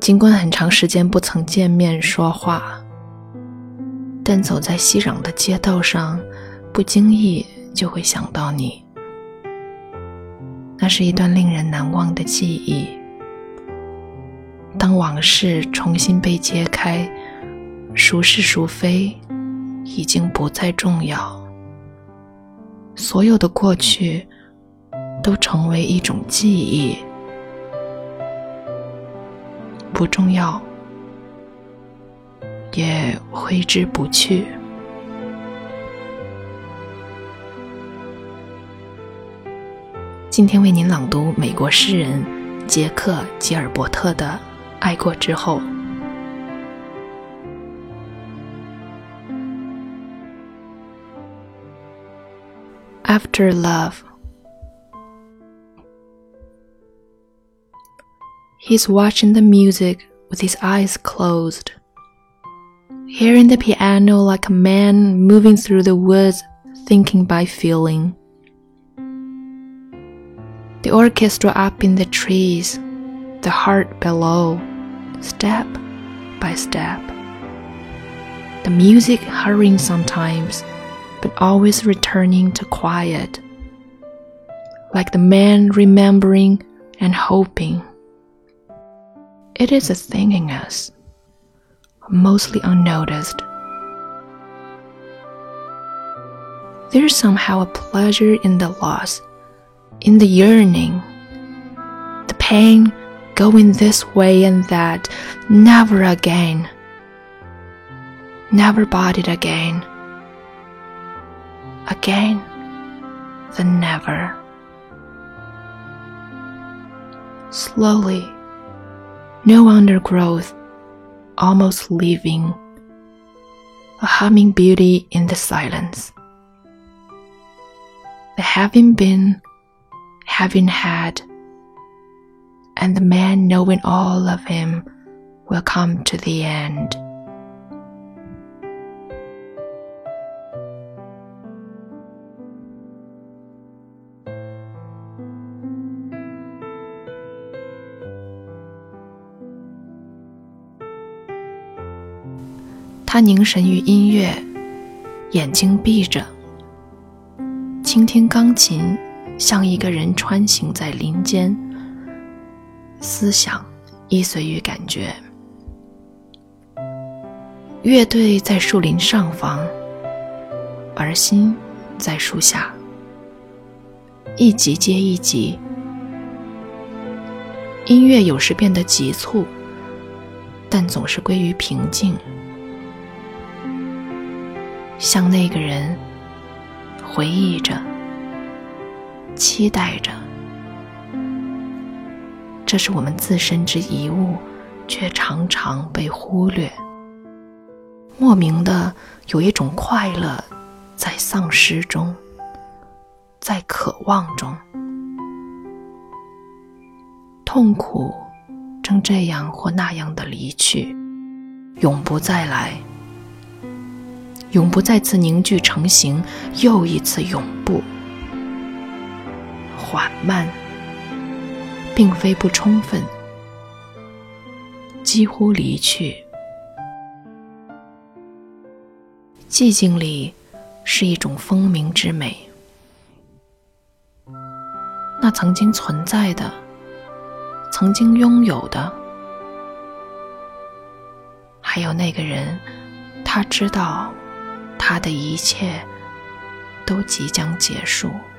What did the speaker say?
尽管很长时间不曾见面说话，但走在熙攘的街道上，不经意就会想到你。那是一段令人难忘的记忆。当往事重新被揭开，孰是孰非已经不再重要，所有的过去都成为一种记忆，不重要，也挥之不去。今天为您朗读美国诗人杰克·吉尔伯特的《爱过之后》。After love. He's watching the music with his eyes closed, hearing the piano like a man moving through the woods, thinking by feeling. The orchestra up in the trees, the heart below, step by step. The music hurrying sometimes, but always returning to quiet, like the man remembering and hoping. It is a thing in us, mostly unnoticed. There's somehow a pleasure in the loss, in the yearning, the pain going this way and that, never again, never bought it again. Again, the never. Slowly, no undergrowth, almost leaving, a humming beauty in the silence. The having been, having had, and the man knowing all of him will come to the end.他凝神于音乐，眼睛闭着，倾听钢琴，像一个人穿行在林间，思想依随于感觉。乐队在树林上方，而心在树下，一集接一集。音乐有时变得急促，但总是归于平静。像那个人回忆着，期待着，这是我们自身之遗物，却常常被忽略。莫名的有一种快乐在丧失中，在渴望中，痛苦正这样或那样的离去，永不再来，永不再次凝聚成形，又一次永不。缓慢，并非不充分，几乎离去。寂静里是一种风鸣之美，那曾经存在的，曾经拥有的，还有那个人，他知道他的一切都即将结束。